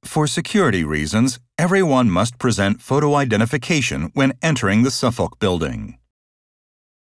For security reasons, everyone must present photo identification when entering the Suffolk Building.